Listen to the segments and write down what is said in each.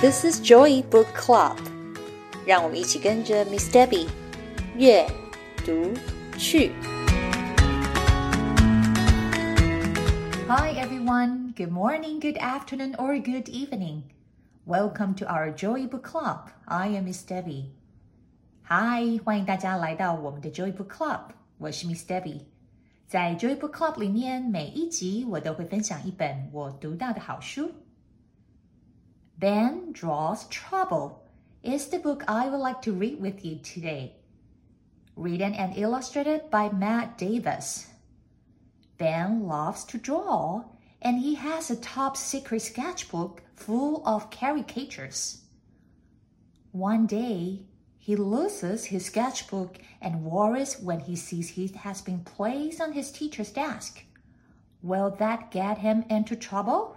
This is Joy Book Club， 让我们一起跟着 Miss Debbie 阅读去。Hi everyone, good morning, good afternoon, or good evening. Welcome to our Joy Book Club. I am Miss Debbie. Hi， 欢迎大家来到我们的 Joy Book Club， 我是 Miss Debbie。在 Joy Book Club 里面，每一集我都会分享一本我读到的好书。Ben Draws Trouble is the book I would like to read with you today. Written and illustrated by Matt Davis. Ben loves to draw, and he has a top secret sketchbook full of caricatures. One day, he loses his sketchbook and worries when he sees it has been placed on his teacher's desk. Will that get him into trouble?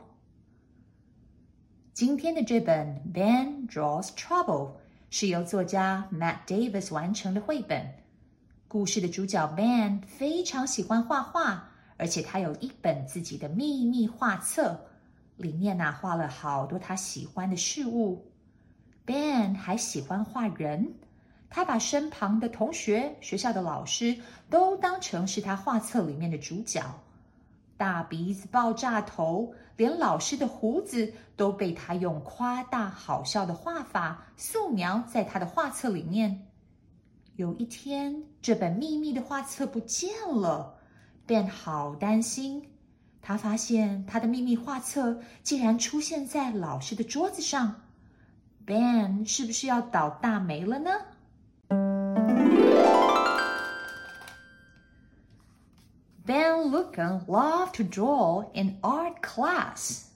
今天的这本 Ben Draws Trouble 是由作家 Matt Davis 完成的绘本。故事的主角 Ben 非常喜欢画画，而且他有一本自己的秘密画册，里面画了好多他喜欢的事物。Ben 还喜欢画人，他把身旁的同学、学校的老师都当成是他画册里面的主角。大鼻子、爆炸头，连老师的胡子都被他用夸大好笑的画法素描在他的画册里面。有一天，这本秘密的画册不见了， Ben 好担心。他发现他的秘密画册竟然出现在老师的桌子上。Ben 是不是要倒大霉了呢？Ben Lucan loved to draw in art class.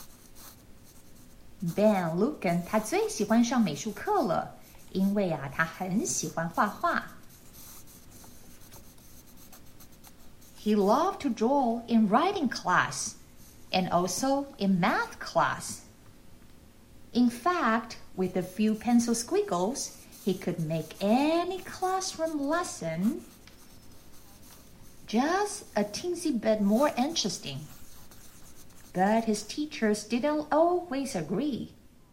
Ben Lucan 他最喜欢上美术课了，因为他很喜欢画画。He loved to draw in writing class and also in math class. In fact, with a few pencil squiggles, he could make any classroom lesson just a teensy bit more interesting. But his teachers didn't always agree.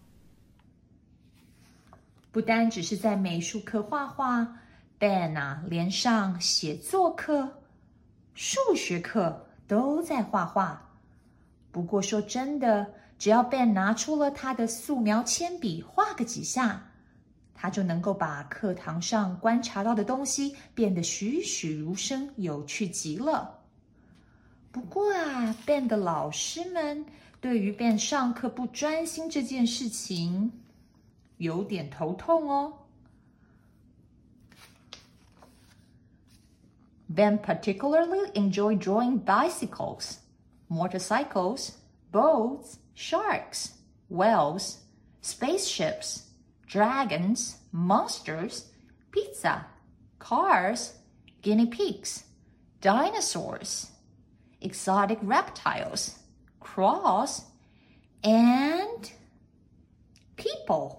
不单只是在美术课画画， Ben 连上写作课、数学课都在画画。不过说真的，只要 Ben 拿出了他的素描铅笔画个几下，他就能够把课堂上观察到的东西变得栩栩如生，有趣极了。不过Ben 的老师们对于 Ben 上课不专心这件事情有点头痛哦。Ben particularly enjoyed drawing bicycles, motorcycles, boats, sharks, whales, spaceships, dragons, monsters, pizza, cars, guinea pigs, dinosaurs, exotic reptiles, crows, and people.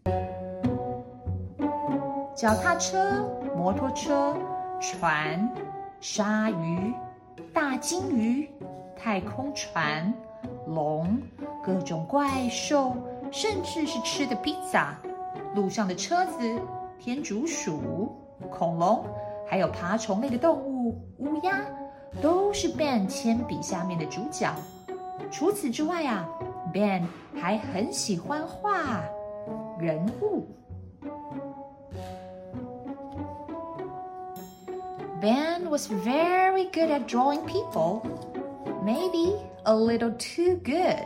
脚踏车、摩托车、船、鲨鱼、大金鱼、太空船、龙、各种怪兽，甚至是吃的披萨。路上的车子、天竺鼠、恐龙，还有爬虫类的动物、乌鸦，都是 Ben 铅笔下面的主角。除此之外Ben 还很喜欢画人物。Ben was very good at drawing people, maybe a little too good.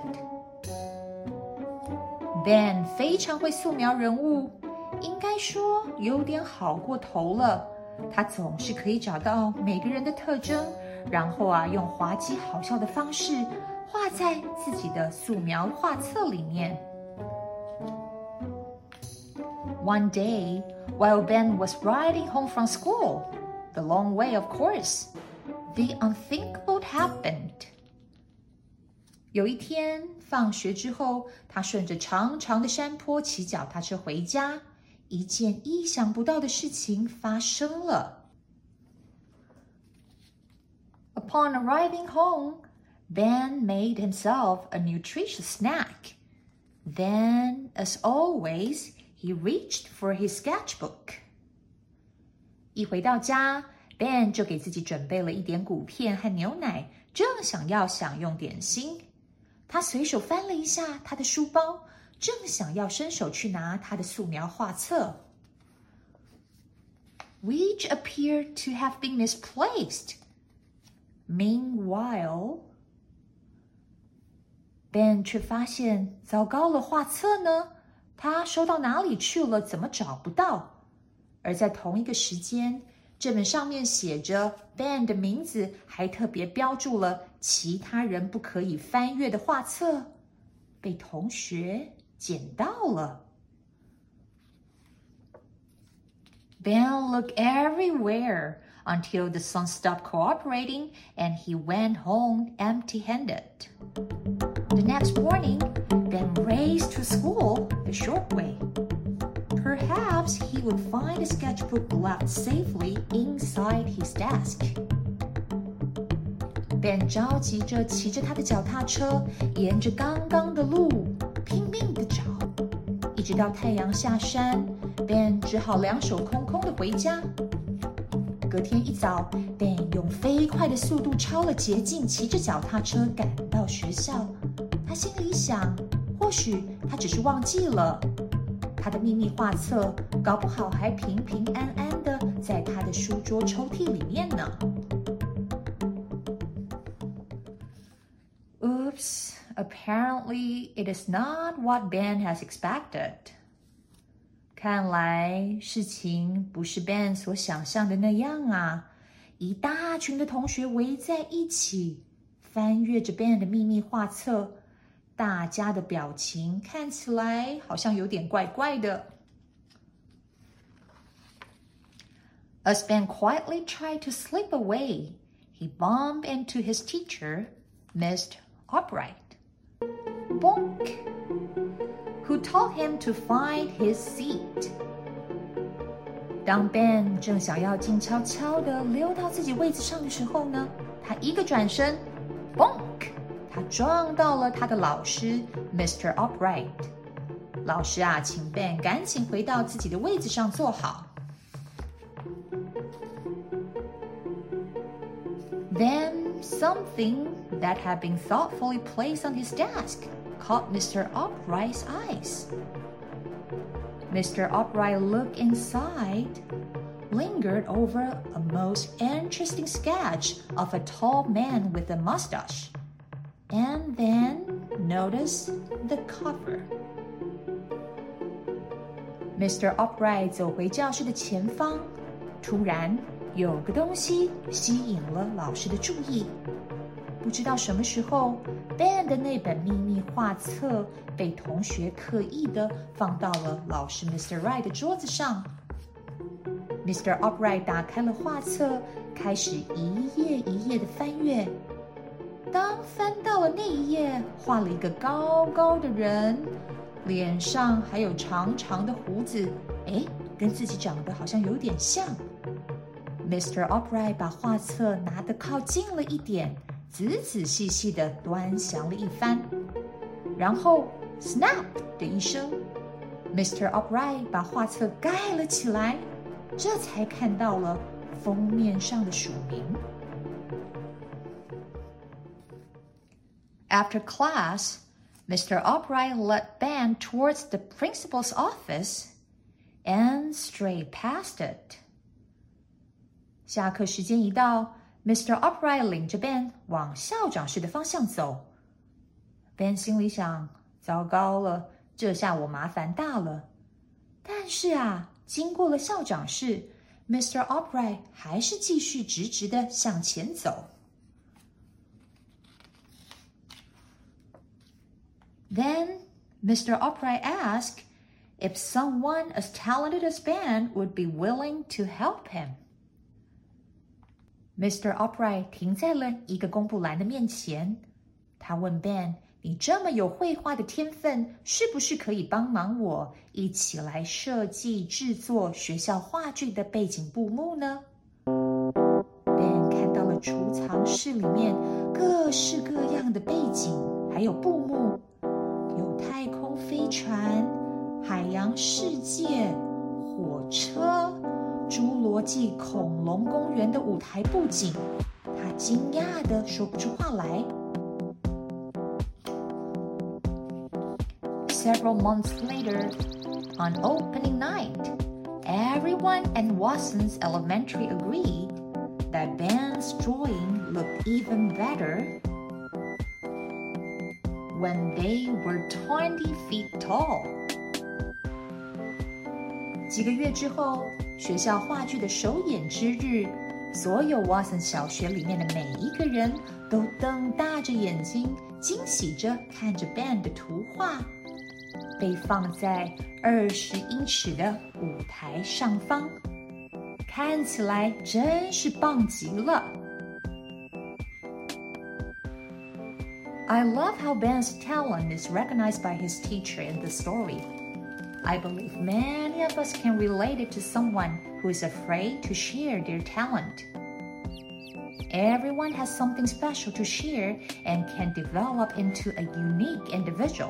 Ben 非常会素描人物，应该说有点好过头了。他总是可以找到每个人的特征，然后用滑稽好笑的方式画在自己的素描画册里面。One day, while Ben was riding home from school, the long way, of course, the unthinkable happened. 有一天放学之后，他顺着长长的山坡骑脚踏车回家，一件意想不到的事情发生了。Upon arriving home, Ben made himself a nutritious snack, Then, as always, he reached for his sketchbook. 一回到家 Ben 就给自己准备了一点谷片和牛奶，正想要享用点心。他随手翻了一下他的书包，正想要伸手去拿他的素描画册。Which appeared to have been misplaced. Meanwhile, Ben 却发现，糟糕了，画册呢？他收到哪里去了？怎么找不到？而在同一个时间，这本上面写着 Ben 的名字，还特别标注了其他人不可以翻阅的画册，被同学捡到了。Ben looked everywhere until the son stopped cooperating and he went home empty-handed. The next morning, Ben raced to school the short way. Perhaps he would find the sketchbook left safely inside his desk. Ben 着急着骑着他的脚踏车，沿着刚刚的路拼命地找，一直到太阳下山 ，Ben 只好两手空空地回家。隔天一早 ，Ben 用飞快的速度抄了捷径，骑着脚踏车赶到学校。他心里想，或许他只是忘记了。他的秘密画册搞不好还平平安安的在他的书桌抽屉里面呢。Oops, apparently it is not what Ben has expected. 看来事情不是 Ben 所想象的那样啊！一大群的同学围在一起，翻阅着 Ben 的秘密画册。大家的表情看起来好像有点怪怪的。As Ben quietly tried to slip away, he bumped into his teacher, Mr. Upright. Bonk! Who told him to find his seat. 当 Ben 正想要静悄悄地溜到自己位子上的时候呢，他一个转身 ，Bonk！他撞到了他的老师 Mr. Upright。老师啊，请 Ben 赶紧回到自己的位子上坐好。Then something that had been thoughtfully placed on his desk caught Mr. Upright's eyes. Mr. Upright looked inside, lingered over a most interesting sketch of a tall man with a mustache.And then notice the cover. Mr. Upright 走回教室的前方，突然有个东西吸引了老师的注意。不知道什么时候 ，Ben 的那本秘密画册被同学刻意的放到了老师 Mr. Wright 的桌子上。Mr. Upright 打开了画册，开始一页一页的翻阅。当翻到了那一页，画了一个高高的人，脸上还有长长的胡子，跟自己长得好像有点像。Mr. Upright 把画册拿得靠近了一点，仔仔细细地端详了一番，然后 snap 的一声 ，Mr. Upright 把画册盖了起来，这才看到了封面上的署名。After class, Mr. Upright led Ben towards the principal's office and strayed past it. 下课时间一到 ，Mr. Upright 领着 Ben 往校长室的方向走。Ben 心里想：糟糕了，这下我麻烦大了。但是啊，经过了校长室 ，Mr. Upright 还是继续直直的向前走。Then Mr. Upright asked if someone as talented as Ben would be willing to help him. Mr. Upright 停在了一个公布栏的面前，他问 Ben：“ 你这么有绘画的天分，是不是可以帮忙我一起来设计制作学校话剧的背景布幕呢？” Ben 看到了储藏室里面各式各样的背景，还有布幕。有太空飞飞船、海洋世界、火车、侏罗纪恐龙公园的舞台布景，他惊讶地说不出话来。Several months later, on opening night, everyone at Watson's Elementary agreed that Ben's drawing looked even better when they were 20 feet tall. 几个月之后，学校话剧的首演之日，所有 Watson 小学里面的每一个人都瞪大着眼睛，惊喜着看着 Ben 的图画，被放在20英尺的舞台上方，看起来真是棒极了。I love how Ben's talent is recognized by his teacher in the story. I believe many of us can relate it to someone who is afraid to share their talent. Everyone has something special to share and can develop into a unique individual.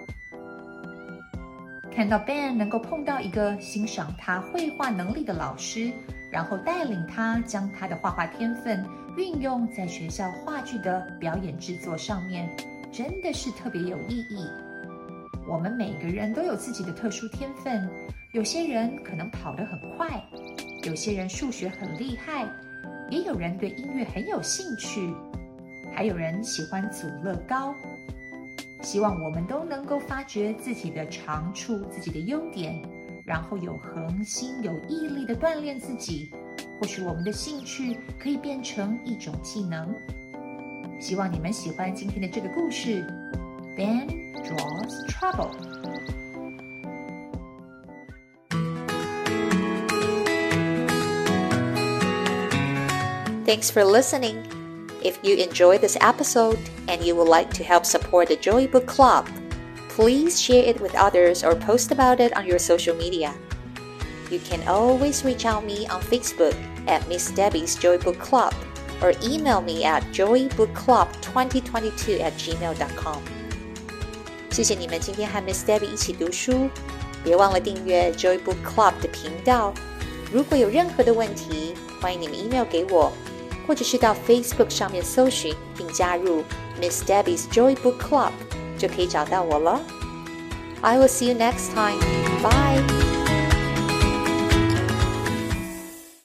看到 Ben 能够碰到一个欣赏他绘画能力的老师，然后带领他将他的画画天分运用在学校话剧的表演制作上面，真的是特别有意义。我们每个人都有自己的特殊天分，有些人可能跑得很快，有些人数学很厉害，也有人对音乐很有兴趣，还有人喜欢组乐高。希望我们都能够发掘自己的长处，自己的优点，然后有恒心有毅力地锻炼自己，或许我们的兴趣可以变成一种技能。希望你们喜欢今天的这个故事 Ben Draws Trouble。 Thanks for listening. If you enjoyed this episode and you would like to help support the Joy Book Club, please share it with others or post about it on your social media. You can always reach out me on Facebook at Miss Debbie's Joy Book Club or email me at joybookclub2022@gmail.com. 谢谢你们今天和 Miss Debbie 一起读书，别忘了订阅 Joy Book Club 的频道。如果有任何的问题，欢迎你们 email 给我，或者是到 Facebook 上面搜寻并加入 Miss Debbie's Joy Book Club 就可以找到我了。I will see you next time. Bye.